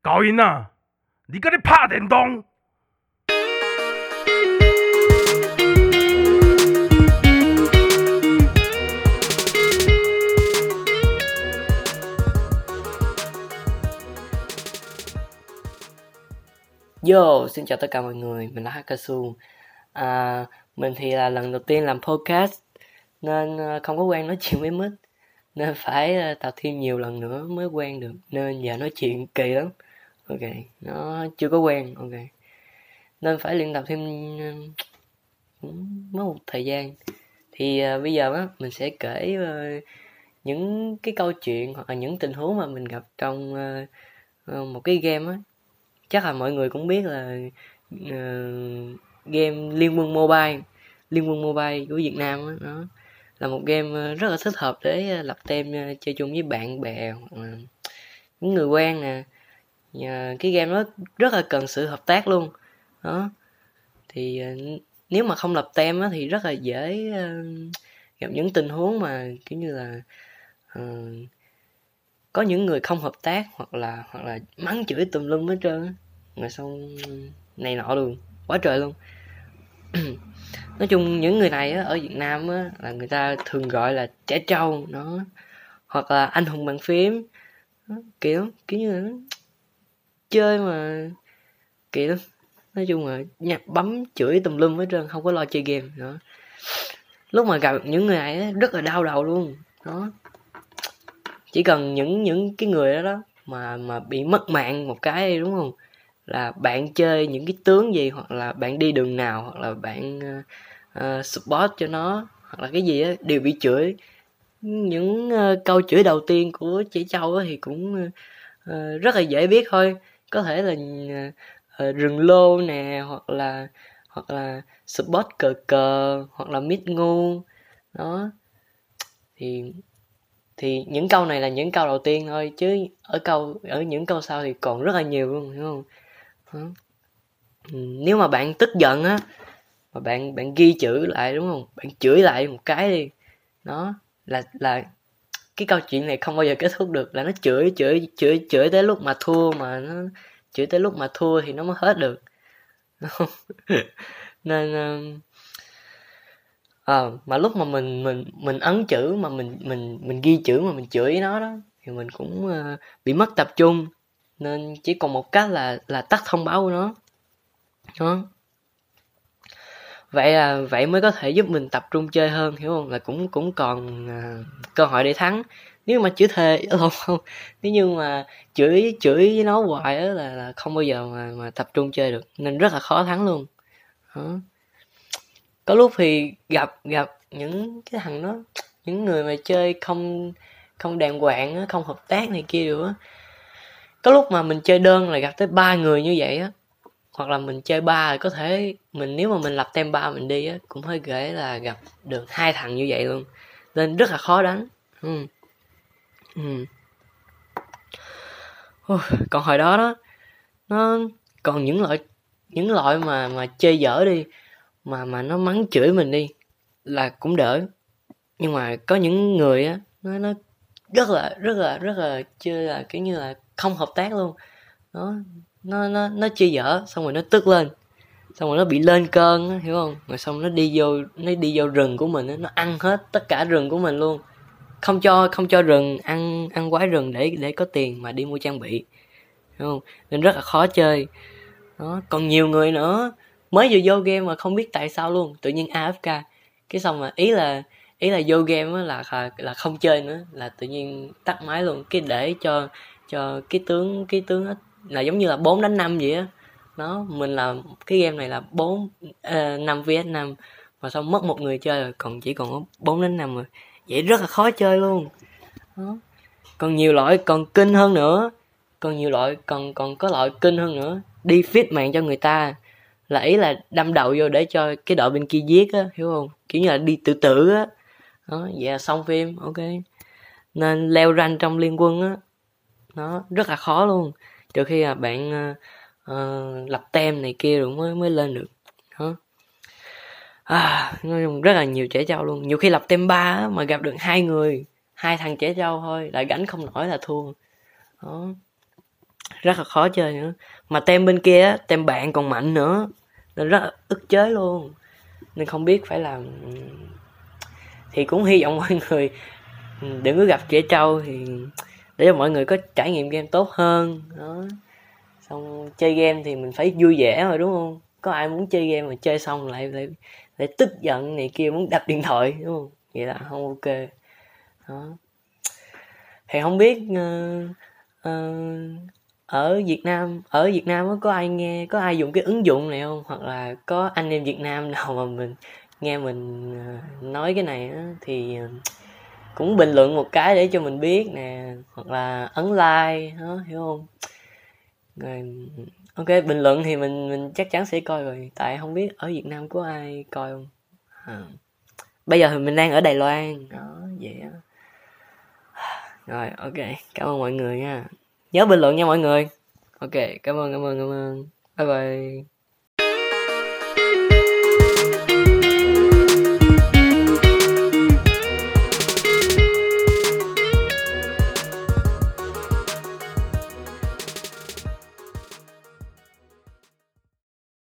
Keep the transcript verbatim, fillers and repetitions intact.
高音啊，你跟你拍電動。 Yo, xin chào tất cả mọi người, mình là Hakasu. À, mình thì là lần đầu tiên làm podcast nên không có quen nói chuyện với mic, nên phải tập thêm nhiều lần nữa mới quen được, nên giờ nói chuyện kỳ lắm. Ok, nó chưa có quen, ok, nên phải luyện tập thêm cũng mất một thời gian. Thì uh, bây giờ á mình sẽ kể uh, những cái câu chuyện hoặc là những tình huống mà mình gặp trong uh, uh, một cái game á. Chắc là mọi người cũng biết là uh, game Liên Quân Mobile Liên Quân Mobile của Việt Nam á, nó là một game rất là thích hợp để lập team chơi chung với bạn bè hoặc là những người quen nè. uh, Cái game đó rất là cần sự hợp tác luôn đó. Thì uh, nếu mà không lập team á, thì rất là dễ uh, gặp những tình huống mà kiểu như là uh, có những người không hợp tác hoặc là hoặc là mắng chửi tùm lum hết trơn á, mà xong này nọ luôn, quá trời luôn. Nói chung những người này á, ở Việt Nam á, là người ta thường gọi là trẻ trâu nó, hoặc là anh hùng bàn phím đó, kiểu kiểu như là chơi mà kiểu lắm. Nói chung là nhặt bấm chửi tùm lum hết trơn, không có lo chơi game nữa. Lúc mà gặp những người này á, rất là đau đầu luôn đó. Chỉ cần những những cái người đó đó mà mà bị mất mạng một cái, đúng không, là bạn chơi những cái tướng gì, hoặc là bạn đi đường nào, hoặc là bạn uh, uh, support cho nó, hoặc là cái gì á, đều bị chửi. Những uh, câu chửi đầu tiên của chị Châu á, thì cũng uh, rất là dễ biết thôi. Có thể là uh, uh, rừng lô nè, hoặc là hoặc là support cờ cờ, hoặc là mid ngu đó. Thì thì những câu này là những câu đầu tiên thôi, chứ ở câu ở những câu sau thì còn rất là nhiều luôn, hiểu không? Đó. Nếu mà bạn tức giận á, mà bạn bạn ghi chữ lại, đúng không, bạn chửi lại một cái đi đó, là là cái câu chuyện này không bao giờ kết thúc được, là nó chửi chửi chửi chửi tới lúc mà thua, mà nó chửi tới lúc mà thua thì nó mới hết được. Nên ờ à, mà lúc mà mình mình mình ấn chữ, mà mình mình mình ghi chữ mà mình chửi nó đó, thì mình cũng uh, bị mất tập trung, nên chỉ còn một cách là là tắt thông báo của nó đó. Vậy là vậy mới có thể giúp mình tập trung chơi hơn, hiểu không? Là cũng cũng còn uh, cơ hội để thắng. Nếu mà chửi thề không, nếu như mà chửi chửi với nó hoài á, là, là không bao giờ mà mà tập trung chơi được, nên rất là khó thắng luôn đó. Có lúc thì gặp gặp những cái thằng đó, những người mà chơi không không đàng hoàng á, không hợp tác này kia được á. Có lúc mà mình chơi đơn là gặp tới ba người như vậy á, hoặc là mình chơi ba, có thể mình nếu mà mình lập team ba mình đi á, cũng hơi ghê là gặp được hai thằng như vậy luôn, nên rất là khó đánh. ừ. Ừ. Ôi, còn hồi đó đó, nó còn những loại những loại mà mà chơi dở đi, mà mà nó mắng chửi mình đi là cũng đỡ. Nhưng mà có những người á, nó nó rất là rất là rất là chơi là kiểu như là không hợp tác luôn đó. Nó nó nó chơi dở, xong rồi nó tức lên, xong rồi nó bị lên cơn á, hiểu không? Rồi xong nó đi vô nó đi vô rừng của mình á, nó ăn hết tất cả rừng của mình luôn, không cho không cho rừng ăn ăn quái rừng để để có tiền mà đi mua trang bị, hiểu không? Nên rất là khó chơi đó. Còn nhiều người nữa mới vừa vô game mà không biết tại sao luôn, tự nhiên a ép ca, cái xong mà ý là ý là vô game á là là không chơi nữa, là tự nhiên tắt máy luôn, cái để cho cho cái tướng cái tướng đó, là giống như là bốn đánh năm vậy á. Đó, mình là cái game này là bốn năm vs năm, mà xong mất một người chơi rồi, còn chỉ còn có bốn đến năm rồi. Vậy rất là khó chơi luôn. Đó. Còn nhiều loại còn kinh hơn nữa, còn nhiều loại còn còn có loại kinh hơn nữa, đi fit mạng cho người ta, là ý là đâm đầu vô để cho cái đội bên kia giết á, hiểu không? Kiểu như là đi tự tử á. Đó, vậy là xong phim, ok. Nên leo rank trong liên quân á, nó rất là khó luôn, trừ khi là bạn uh, uh, lập tem này kia rồi mới mới lên được đó. À, nói chung rất là nhiều trẻ trâu luôn. Nhiều khi lập tem ba á, mà gặp được hai người, hai thằng trẻ trâu thôi, lại gánh không nổi là thua đó. rất là khó chơi nữa. Mà tem bên kia á, tem bạn còn mạnh nữa, nên rất là ức chế luôn. Nên không biết phải làm. Thì cũng hy vọng mọi người đừng có gặp trẻ trâu, thì để cho mọi người có trải nghiệm game tốt hơn đó. Xong chơi game thì mình phải vui vẻ rồi đúng không? Có ai muốn chơi game mà chơi xong lại lại, lại tức giận này kia, muốn đập điện thoại đúng không? Vậy là không ok đó. Thì không biết uh, uh, ở Việt Nam ở Việt Nam có ai nghe, có ai dùng cái ứng dụng này không? Hoặc là có anh em Việt Nam nào mà mình nghe mình uh, nói cái này á, thì uh, cũng bình luận một cái để cho mình biết nè, hoặc là ấn like đó, hiểu không? Rồi ok, bình luận thì mình mình chắc chắn sẽ coi rồi, tại không biết ở Việt Nam có ai coi không. À. Bây giờ thì mình đang ở Đài Loan đó, vậy á. Rồi ok, cảm ơn mọi người nha, nhớ bình luận nha mọi người. Ok, cảm ơn cảm ơn cảm ơn, bye bye.